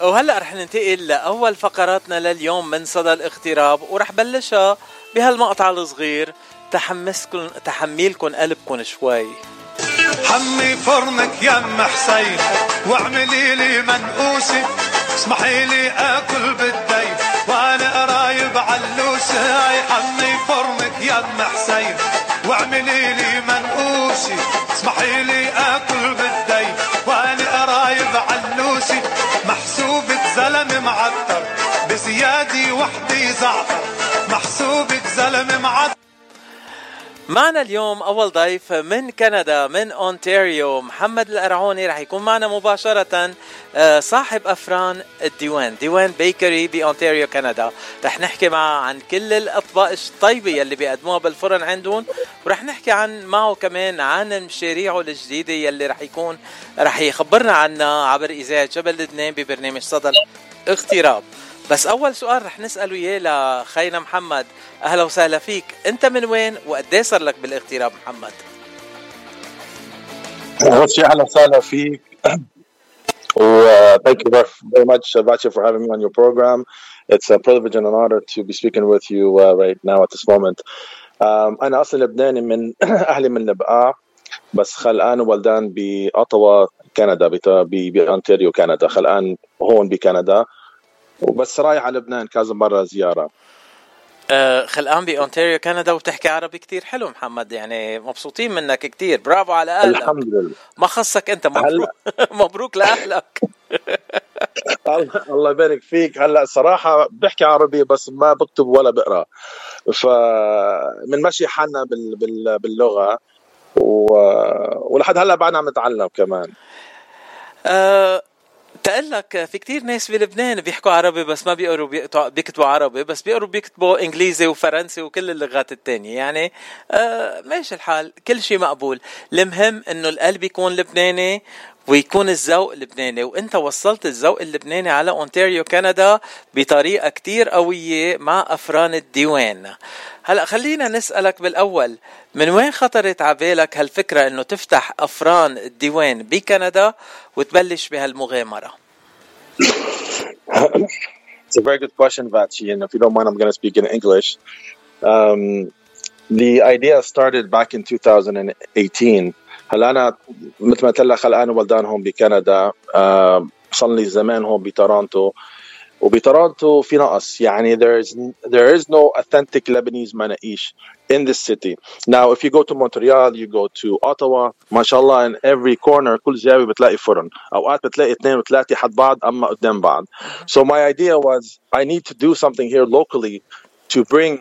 وهلأ رح ننتقل لأول فقراتنا لليوم من صدى الاغتراب، ورح بلشها بهالمقطع الصغير تحميلكن قلبكن شوي. حمي فرنك يا ام حسين واعملي لي منقوسي، اسمحي لي اكل بالدي وانا قرايب علوسي. حمي فرنك يا ام حسين واعملي لي منقوسي، اسمحي لي اكل بالدي وانا قرايب علوسي. محسوبك زلمه معطر بزيادي وحدي زعتر، محسوبك زلمه معطر. معنا اليوم أول ضيف من كندا من أونتاريو، محمد القرعوني. رح يكون معنا مباشرة صاحب أفران الديوان، ديوان بيكري بأونتاريو كندا. رح نحكي معه عن كل الأطباق الطيبة يلي بيقدموها بالفرن عندهم، ورح نحكي معه كمان عن مشاريعه الجديدة يلي رح يخبرنا عنها عبر إذاعة جبل لبنان ببرنامج صدى الاغتراب. بس أول سؤال رح نسأله إياه لخينا محمد. أهلا وسهلا فيك، أنت من وين وقديه صار لك بالاغتراب محمد؟ أول شيء أهلا وسهلا فيك thank you very much Bacha for having me on your program. It's a privilege and an honor to be speaking with you right now at this moment. أنا أصلا لبناني من أهلي من نبقى، بس خلقان وولدان بأوتاوا كندا بأونتاريو كندا، خلقان هون بكندا وبس رايح على لبنان كذا مرة زيارة. خلقان بأونتاريو كندا وتحكي عربي كتير حلو محمد، يعني مبسوطين منك كتير، برافو على أهلك. الحمد لله. ما خصك أنت، مبروك مبروك لأهلك. الله يبارك فيك. هلا صراحة بحكي عربي بس ما بكتب ولا بقرأ، فمن ماشي حالنا باللغة ولحد هلا بعدنا عم نتعلم كمان. تقلك في كتير ناس بلبنان بيحكوا عربي بس ما بيكتبوا عربي، بس بيكتبوا انجليزي وفرنسي وكل اللغات التانية، يعني ماشي الحال، كل شيء مقبول. المهم انه القلب يكون لبناني ويكون الذوق لبناني، وانت وصلت الذوق اللبناني على أونتاريو كندا بطريقة كتير قوية مع أفران الديوان. هلأ خلينا نسألك بالأول، من وين خطرت عبالك هالفكرة انه تفتح أفران الديوان بكندا وتبلش بهالمغامرة؟ It's a very good question, Vachi, and if you don't mind, I'm going to speak in English. The idea started back in 2018. هلا أنا مثل ما تلا خلقان وولدان هون بكندا، صار لي زمان هون بتورونتو، وبتورونتو في نقص، يعني there is no authentic Lebanese مناقيش in this city. Now if you go to Montreal, you go to Ottawa, ما شاء الله in every corner كل زاوية بتلاقي فرن، أوقات بتلاقي 2 و3 حد بعض أما قدام بعض. So my idea was I need to do something here locally to bring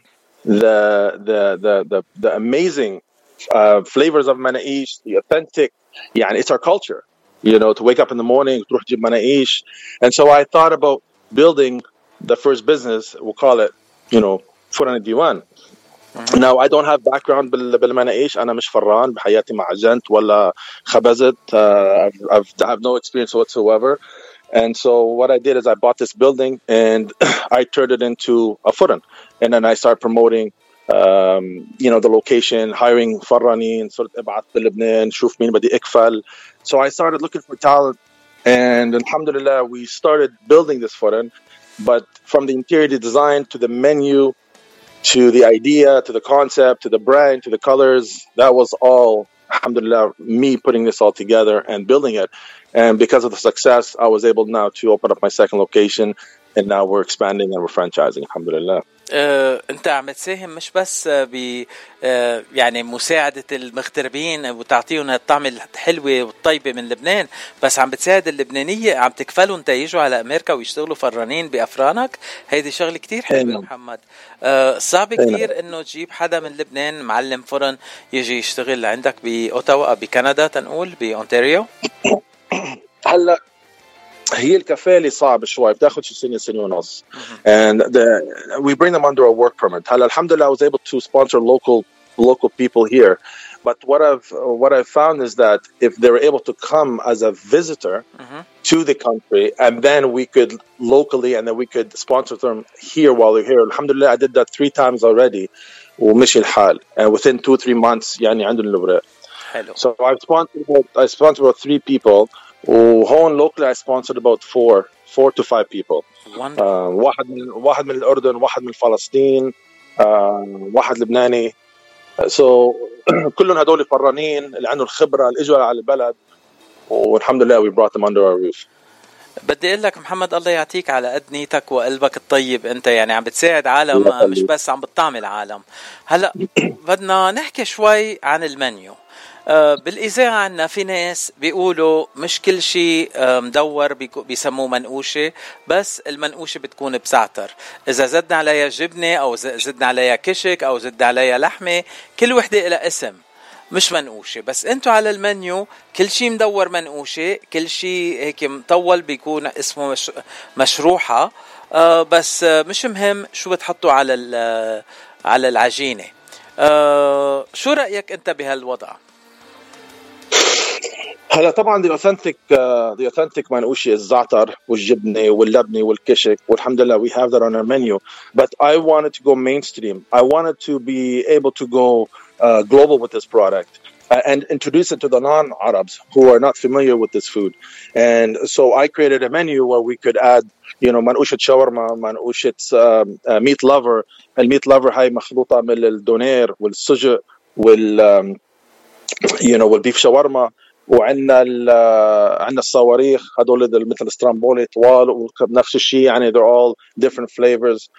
the amazing flavors of مناقيش, the authentic, يعني it's our culture, you know, to wake up in the morning تروح تجيب مناقيش. And so I thought about building the first business, we'll call it, you know, فرن الديوان. Now I don't have background بالمناقيش، أنا مش فران بحياتي مع عجنت ولا خبزت. I have no experience whatsoever. And so what I did is I bought this building and I turned it into a فرن, and then I started promoting you know, the location, hiring فرانين، صرت ابعث بلبنان شوف مين بدي اكفل. So I started looking for talent, and alhamdulillah we started building this فرن. But from the interior design to the menu to the idea to the concept to the brand to the colors, that was all alhamdulillah me putting this all together and building it. And because of the success, I was able now to open up my second location, and now we're expanding and we're franchising alhamdulillah. انت عم تساهم مش بس يعني مساعدة المغتربين وتعطيهم الطعم الحلوة والطيبة من لبنان، بس عم بتساعد اللبنانية، عم تكفلهم تيجوا على أمريكا ويشتغلوا فرانين بأفرانك. هيدي شغلة كتير حلوة محمد. صعب كتير انه تجيب حدا من لبنان معلم فرن يجي يشتغل عندك بأوتاوا بكندا، تنقول بأونتاريو. هلا هي الكفالة صعب شوي، بتاخد شي سنة ونص. And we bring them under a work permit. هلا الحمدلله I was able to sponsor local people here. But what I've found is that if they were able to come as a visitor to the country, and then we could locally, and then we could sponsor them here while they're here. Alhamdulillah, I did that 3 times already. ومشي الحال. And within 2-3 months, يعني عندهم الأوراق. So I sponsored about 3 people. وهون locally I sponsored about 4 4 to 5 people. Wonderful. واحد من الأردن، واحد من فلسطين، واحد لبناني. So كلهم هدول فرانين اللي عندهم الخبرة اللي اجوا على البلد، والحمد لله we brought them under our roof. بدي اقول لك محمد، الله يعطيك على قد نيتك وقلبك الطيب. انت يعني عم بتساعد عالم، مش بس عم بتطعم العالم. هلا بدنا نحكي شوي عن المنيو. بالإذاعة عنا في ناس بيقولوا مش كل شيء مدور بيسموه منقوشة، بس المنقوشة بتكون بزعتر. إذا زدنا عليها جبنة أو زدنا عليها كشك أو زدنا عليها لحمة، كل وحدة إلى اسم، مش منقوشة. بس انتو على المنيو كل شيء مدور منقوشة، كل شيء هيك مطول بيكون اسمه مشروحة. بس مش مهم شو بتحطوا على العجينة. شو رأيك انت بهالوضع؟ هلا طبعا the authentic منقوشي الزعتر والجبنة واللبنة والكشك، والحمد لله we have that on our menu. But I wanted to go mainstream. I wanted to be able to go global with this product and introduce it to the non-Arabs who are not familiar with this food. And so I created a menu where we could add, منقوشة شاورما، منقوشة meat lover. الميت lover هاي مخلوطة من الدونير والسجق والبيف شاورما، وعندنا الصواريخ هدول مثل سترامبولي طوال، ونفس الشيء يعني they're all different flavors.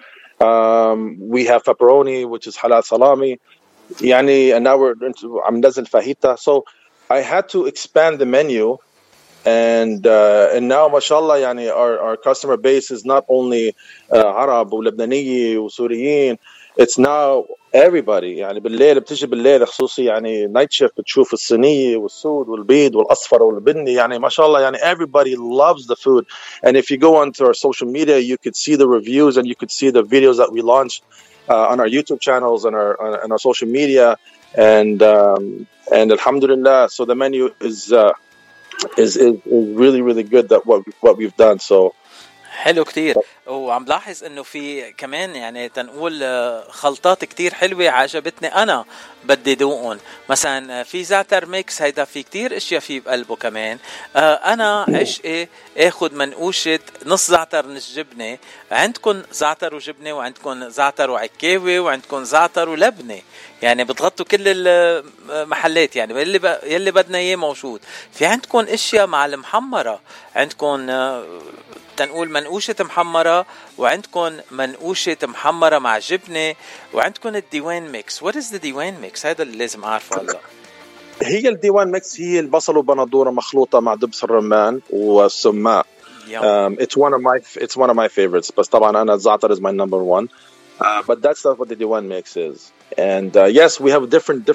We have pepperoni which is halal salami يعني, and now we're عم ننزل فاهيتا. So I had to expand the menu, and now ما شاء الله يعني our customer base is not only عرب ولبنانية وسوريين, it's now everybody. يعني بتيجي بالليل خصوصي يعني night shift بتشوف الصينية والسود والبيض والأصفر والبني، يعني ما شاء الله يعني everybody loves the food. And if you go onto our social media, you could see the reviews and you could see the videos that we launched on our YouTube channels and our social media, and alhamdulillah, so the menu is really really good that what we've done. So حلو كتير. وعم لاحظ انه في كمان يعني تنقول خلطات كتير حلوة عجبتني انا بدي دوقهم. مثلا في زعتر ميكس، هيدا في كتير اشياء فيه بقلبه كمان. انا عشقي اخد منقوشة نص زعتر نص جبنة. عندكم زعتر وجبنة، وعندكم زعتر وعكاوي، وعندكم زعتر ولبنة، يعني بتغطوا كل المحلات. يعني يلي بدنا اياه موجود. في عندكم اشياء مع المحمرة، عندكم تنقول منقوشة محمرة، وعندكم منقوشة محمرة مع جبنة، وعندكم الديوان ميكس. What is the ديوان ميكس؟ هذا اللي لازم أعرفه هلا. هي الديوان ميكس هي البصل وبندورة مخلوطة مع دبس الرمان والسماق. It's one of my favorites. بس طبعا أنا الزعتر is my number one. But that's not what the diwan mix is. And yes, we have different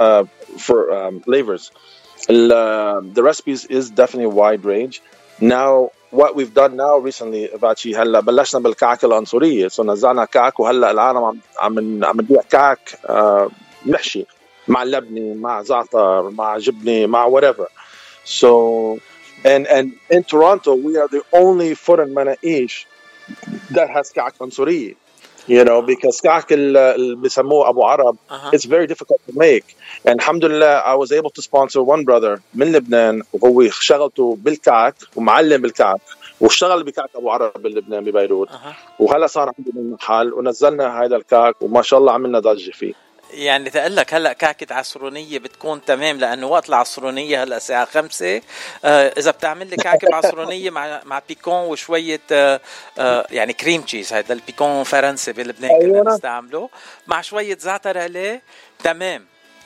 flavors. The recipes is definitely a wide range. Now what we've done now recently باتشي هلا بلشنا بالكعك العنصرية. so نزلنا كعك، وهلا العالم عم نبيع كعك محشي مع لبنة مع زعتر مع جبنة مع whatever. So and in Toronto we are the only foreign مناقيش that has كعك عنصرية. Because كعك اللي بيسموه أبو عرب, it's very difficult to make. And alhamdulillah, I was able to sponsor one brother من لبنان, وهو شغلته بالكعك ومعلم بالكعك, واشتغل بكعك أبو عرب بلبنان ببيروت. وهلا صار عندنا محل ونزلنا هذا الكعك, وما شاء الله عملنا ضجة فيه. يعني تقلك هلأ كعكة عصرونية بتكون تمام، لأنه وقت العصرونية هلأ الساعة 5. إذا بتعمل لي كعكة بعصرونية مع بيكون وشوية يعني كريم تشيز، هذا البيكون فرنسي بلبنان كنا نستعمله مع شوية زعتر عليه، تمام.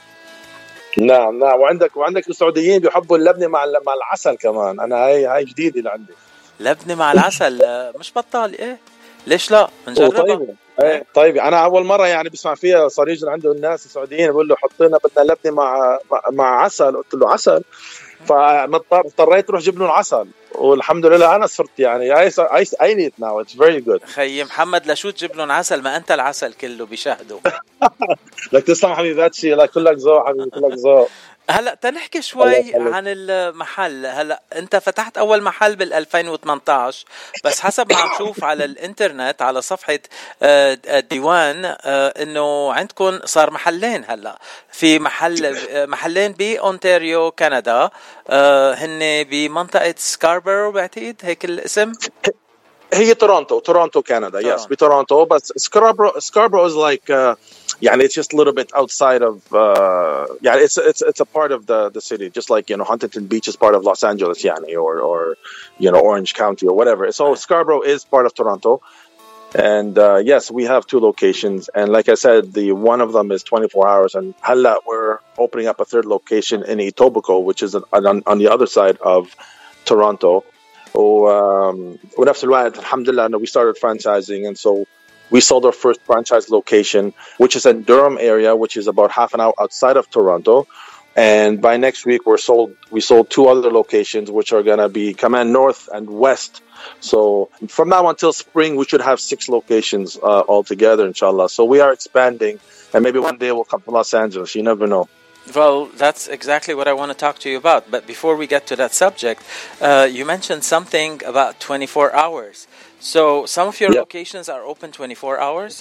نعم وعندك السعوديين بيحبوا اللبنة مع العسل كمان. أنا هاي جديدة اللي عندي، لبنة مع العسل. مش بطال إيه؟ ليش لا نجربها؟ طيب انا اول مره يعني بسمع فيها. صار يجي عنده الناس السعوديين بيقول له حط لنا بدنا لبنه مع عسل. قلت له عسل؟ فاضطريت اروح جيب له العسل، والحمد لله انا صرت يعني I need it now. It's very good. خي محمد لشو تجيب لهم عسل؟ ما انت العسل كله بيشهدوا. لك تسلم حبيباتي، لك كلك ذوق حبيبي، كلك ذوق. هلا تنحكي شوي عن المحل. هلا انت فتحت اول محل بال2018، بس حسب ما عم شوف على الانترنت على صفحة الديوان انه عندكم صار محلين. هلا في محلين بأونتاريو كندا، هن بمنطقة سكاربرو بعتقد هيك الاسم. هي Toronto, Canada. Yes, be Toronto. But Scarborough is like, it's just a little bit outside of, it's a part of the city, just like, Huntington Beach is part of Los Angeles, or Orange County or whatever. So Scarborough is part of Toronto. And yes, we have 2 locations. And like I said, the one of them is 24 hours. And halla, we're opening up a 3rd location in Etobicoke, which is on the other side of Toronto. ونفس الوقت الحمد لله we started franchising, and so we sold our first franchise location, which is in Durham area, which is about half an hour outside of Toronto. And by next week we sold 2 other locations, which are going to be Command North and West. So from now until spring we should have 6 locations altogether, inshallah. So we are expanding, and maybe one day we'll come to Los Angeles, you never know. Well, that's exactly what I want to talk to you about. But before we get to that subject, you mentioned something about 24 hours. So some of your locations are open 24 hours?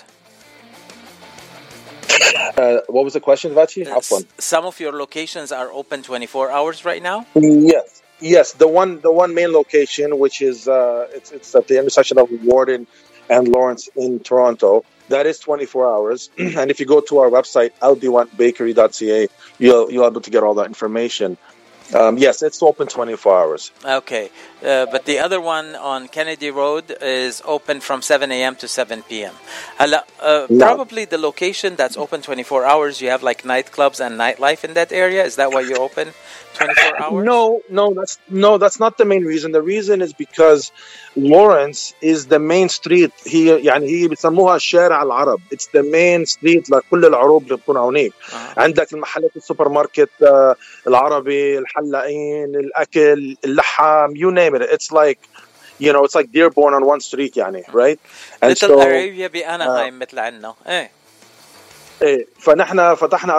What was the question, Vachi? Some of your locations are open 24 hours right now? Yes. The one main location, which is it's at the intersection of Warden and Lawrence in Toronto. That is 24 hours. And if you go to our website, aldiwanbakery.ca, you'll be able to get all that information. Yes, it's open 24 hours. Okay. But the other one on Kennedy Road is open from 7 a.m. to 7 p.m. Probably the location that's open 24 hours, you have like nightclubs and nightlife in that area. Is that why you're open 24 hours? No, that's not the main reason. The reason is because Lawrence is the main street. هي بيسموها شارع العرب. It's the main street لكل العروض اللي بتكون هونيك. عندك المحلات السوبر ماركت العربي، الحلاقين، الأكل، اللحام، you name it. It's like, it's like Dearborn on one street, right? And Little Arabia بأناهايم مثل عنا. فنحن فتحنا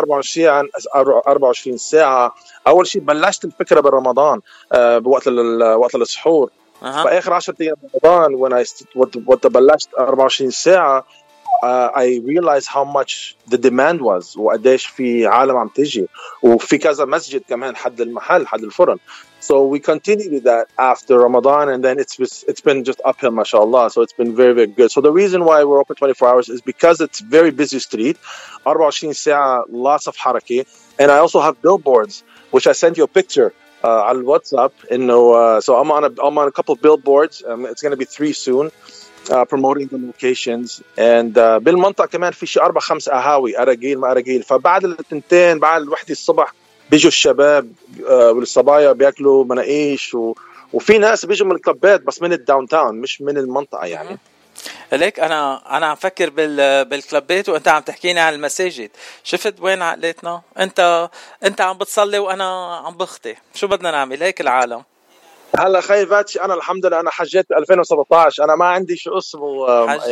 24 ساعة. أول شيء بلشت الفكرة برمضان بوقت السحور. فآخر 10 أيام رمضان وقت بلشت 24 ساعة I realized how much the demand was وقديش في عالم عم تيجي وفي كذا مسجد كمان حد المحل حد الفرن. So we continued with that after Ramadan, and then it's been just uphill, mashallah. So it's been very, very good. So the reason why we're open 24 hours is because it's very busy street, 24 ساعة, lots of haraki, and I also have billboards, which I sent you a picture on WhatsApp. So I'm on a couple of billboards. It's going to be 3 soon. Promoting the locations, and بالمنطقة كمان في شي 4-5 قهاوي أراجيل ما أراجيل. فبعد التنتين بعد الوحدة الصبح بيجوا الشباب والصبايا بياكلوا مناقيش وفي ناس بيجوا من الكلبات بس من الداون تاون مش من المنطقة ليك أنا عم فكر بالكلبات وأنت عم تحكيني عن المساجد. شفت وين عقلتنا؟ أنت عم بتصلي وأنا عم بخطي. شو بدنا نعمل هيك العالم؟ هلا خي فاتشي انا الحمد لله انا حجيت 2017. انا ما عندي شو اسمه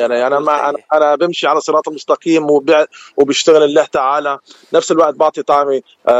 انا بمشي على صراط المستقيم وبشتغل الله تعالى. نفس الوقت بعطي طعمي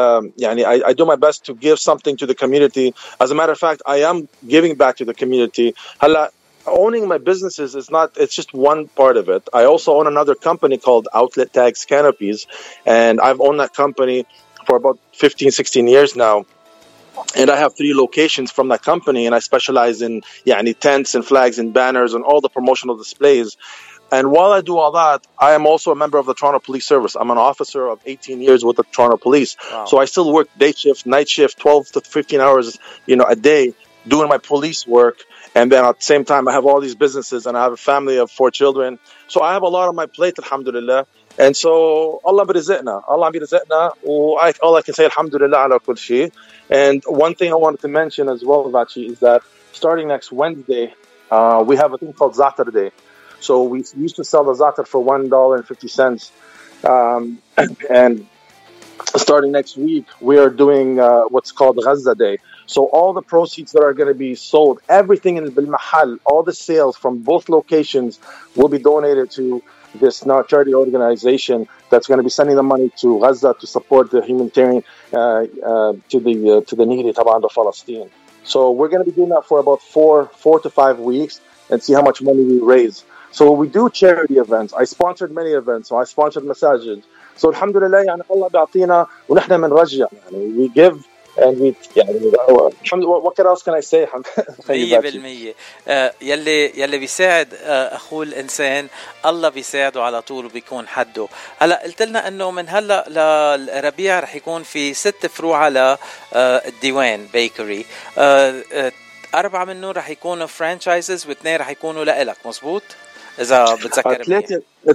I do my best to give something to the community. As a matter of fact, I am giving back to the community. هلا owning my businesses it's just one part of it. I also own another company called Outlet Tags Canopies, and I've owned that company for about 15-16 years now. And I have 3 locations from that company, and I specialize in tents and flags and banners and all the promotional displays. And while I do all that, I am also a member of the Toronto Police Service. I'm an officer of 18 years with the Toronto Police. Wow. So I still work day shift, night shift, 12 to 15 hours, a day doing my police work. And then at the same time, I have all these businesses, and I have a family of 4 children. So I have a lot on my plate, alhamdulillah. And so Allah بيرزقنا all I can say alhamdulillah ala kul shay. And one thing I wanted to mention as well, Vachi, is that starting next Wednesday, we have a thing called Zaatar Day. So we used to sell the Zaatar for $1.50. And starting next week, we are doing what's called Gaza Day. So all the proceeds that are going to be sold, everything in Bil Mahal, all the sales from both locations will be donated to this charity organization that's going to be sending the money to Gaza to support the humanitarian to the needy طبعا the Palestine. So we're going to be doing that for about 4 to 5 weeks and see how much money we raise. So we do charity events. I sponsored many events. So I sponsored masajid. So alhamdulillah Allah بيعطينا ونحن بنرجع we give and we يعني what else can I say 100%. يلي بيساعد اخوه الانسان الله بيساعده على طول وبيكون حده. هلا قلت لنا انه من هلا للربيع رح يكون في 6 فروع على الديوان بيكري. 4 منهم رح يكونوا فرانشايزز و2 رح يكونوا لإلك، مزبوط اذا بتذكر؟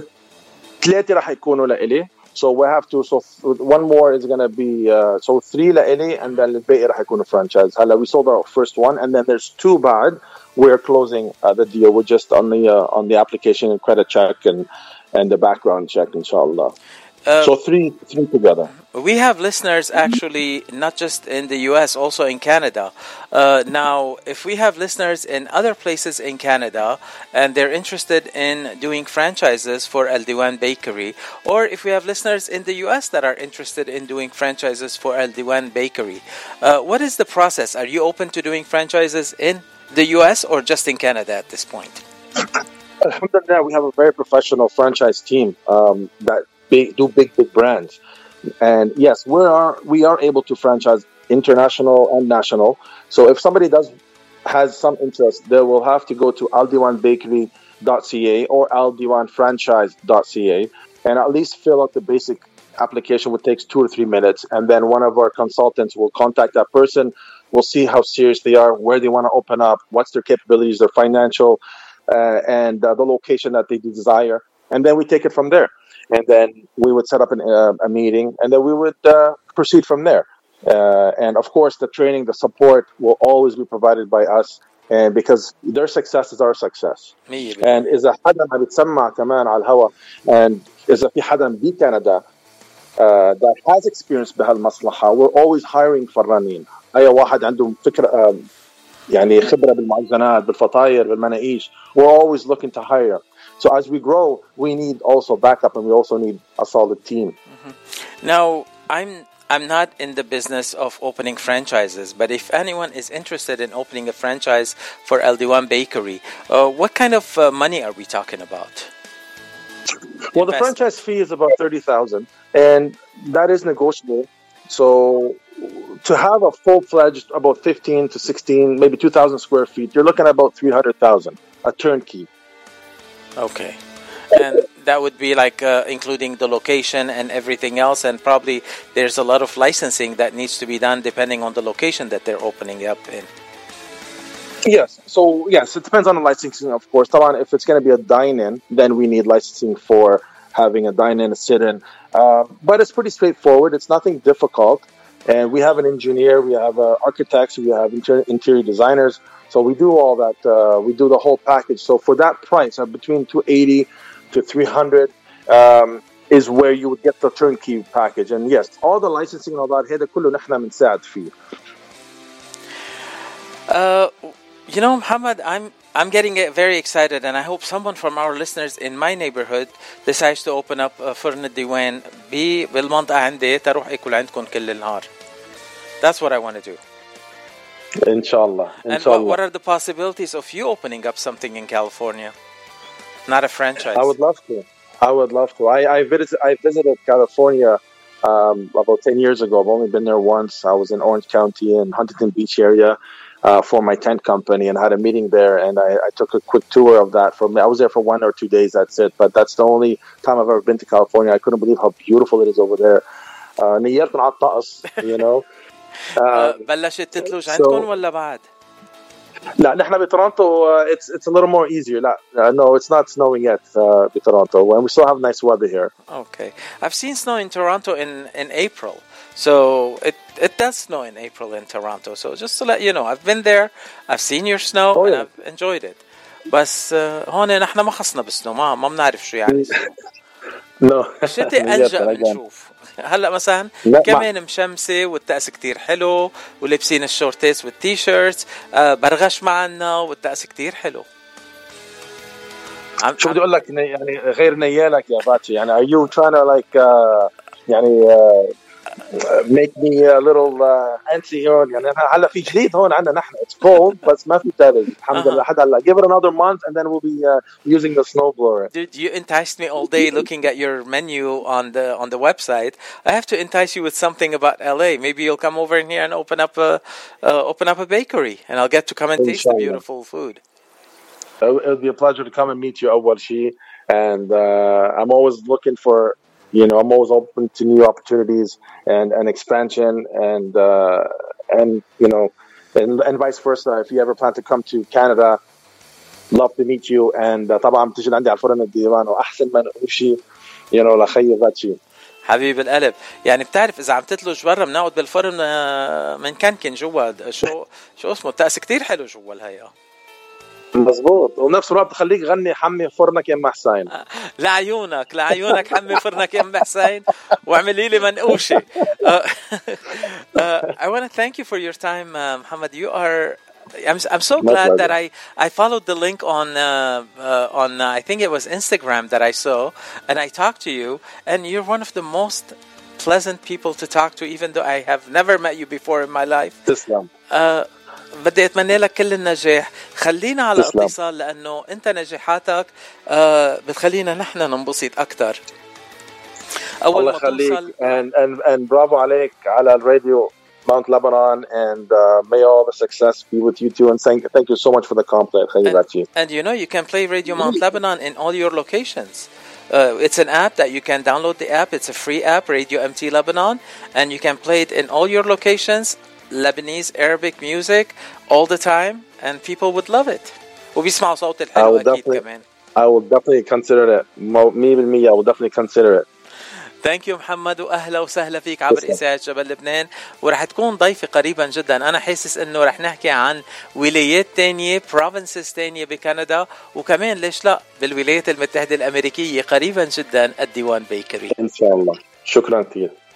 3 رح يكونوا لإلي. So we have to. So one more is gonna be. So 3 لإلي, and then الباقي رح يكونوا franchise. هلا we sold our first one, and then there's 2 بعد. We're closing the deal. We're just on the application and credit check and the background check, inshallah. So three together. We have listeners actually not just in the US, also in Canada. Now, if we have listeners in other places in Canada and they're interested in doing franchises for El Diwan Bakery, or if we have listeners in the US that are interested in doing franchises for El Diwan Bakery, what is the process? Are you open to doing franchises in the US or just in Canada at this point? Alhamdulillah, we have a very professional franchise team that do big brands. And yes, we are able to franchise international and national. So if somebody has some interest, they will have to go to aldiwanbakery.ca or aldiwanfranchise.ca and at least fill out the basic application, which takes 2 or 3 minutes. And then one of our consultants will contact that person. We'll see how serious they are, where they want to open up, what's their capabilities, their financial, and the location that they desire. And then we take it from there. And then we would set up a meeting, and then we would proceed from there. And of course, the training, the support will always be provided by us, and because their success is our success. And إذا حدا ما بيتسمع كمان على الهوا, and إذا في حدا بكندا that has experience بهالمصلحة, we're always hiring فرانين. أي واحد عنده فكرة يعني خبرة بالمعجنات, بالفطاير, بالمناقيش. We're always looking to hire. So as we grow, we need also backup, and we also need a solid team. Mm-hmm. Now, I'm not in the business of opening franchises, but if anyone is interested in opening a franchise for El Diwan Bakery, what kind of money are we talking about? Well, the franchise fee is about $30,000, and that is negotiable. So to have a full-fledged, about 15 to 16, maybe 2,000 square feet, you're looking at about $300,000, a turnkey. Okay. And that would be like including the location and everything else, and probably there's a lot of licensing that needs to be done depending on the location that they're opening up in. Yes. So yes, it depends on the licensing, of course. If it's going to be a dine-in, then we need licensing for having a dine-in, a sit-in. But it's pretty straightforward. It's nothing difficult. And we have an engineer, we have architects, we have interior designers. So we do all that. We do the whole package. So for that price, between $280 to $300 is where you would get the turnkey package. And yes, all the licensing and all that, هذا كله نحن بنساعد فيه. You know, Muhammad, I'm getting very excited, and I hope someone from our listeners in my neighborhood decides to open up فرن الديوان بالمنطقة عندي تروح أكل عندكم كل النهار. That's what I want to do. Inshallah. And what are the possibilities of you opening up something in California? Not a franchise. I would love to. I visited California about 10 years ago. I've only been there once. I was in Orange County and Huntington Beach area for my tent company, and had a meeting there, and I took a quick tour of that. I was there for 1 or 2 days, that's it. But that's the only time I've ever been to California. I couldn't believe how beautiful it is over there. نيرت على الطقس, you know. بلشت تتلج عندكم ولا بعد؟ لا نحن بتورونتو it's a little more easier. No, it's not snowing yet بتورونتو, and we still have nice weather here. Okay, I've seen snow in Toronto in April, so it does snow in April in Toronto. So just to let you know, I've been there, I've seen your snow, and I've enjoyed it. بس هون نحن ما خصنا بالسنو, ما بنعرف شو يعني. No. الشتاء ألجأ بنشوف. هلا مثلا كمان مشمسة والطقس كتير حلو, ولابسين الشورتيس والتيشيرتس, برغش معنا والطقس كتير حلو. شو بدي اقول لك, يعني غير نيالك يا فاتشي, يعني are you trying to like يعني make me a little antsy هون. يعني هلا في جديد هون عندنا نحن. It's cold بس ما في ثلج الحمد لله. لحد هلا give it another month and then we'll be using the snowblower. Dude, you enticed me all day looking at your menu on the website. I have to entice you with something about LA. Maybe you'll come over in here and open up a bakery, and I'll get to come and taste the beautiful food. It'll be a pleasure to come and meet you, أول شيء. And I'm always looking for, I'm always open to new opportunities and expansion and vice versa. If you ever plan to come to Canada, love to meet you. And طبعا بتجي عندي على الفرن الديوان وأحسن من شيء لخي غاتشي. حبيب القلب. يعني بتعرف إذا عم تتلج برا بنقعد بالفرن من كان جوا شو اسمه التأس كتير حلو جوا الهيئة. مزبوط. ونفس الوقت تخليك غني حمي فرنك يا ام حسين. لعيونك حمي فرنك يا ام حسين واعملي لي منقوشه. I want to thank you for your time, Muhammad. I'm so glad that I followed the link on I think it was Instagram that I saw, and I talked to you, and you're one of the most pleasant people to talk to, even though I have never met you before in my life. تسلم. بدي أتمنى لك كل النجاح. خلينا على اتصال لأنه أنت نجاحاتك بتخلينا نحن ننبسط أكتر. أول ما توصل and bravo عليك على الراديو Mount Lebanon, and may all the success be with you too, and thank you so much for the compliment. And you can play Radio Mount Lebanon in all your locations. It's an app that you can download the app. It's a free app, Radio MT Lebanon, and you can play it in all your locations. Lebanese Arabic music all the time, and people would love it. وبيسمعوا صوت الحلو أكيد كمان. I will definitely consider it. 100% I will definitely consider it. Thank you محمد وأهلا وسهلا فيك عبر إذاعة جبل لبنان. ورح تكون ضيفي قريبا جدا. أنا حاسس إنه رح نحكي عن ولايات تانية provinces تانية بكندا، وكمان ليش لا بالولايات المتحدة الأمريكية قريبا جدا الديوان بيكري. إن شاء الله. شكرا كثير.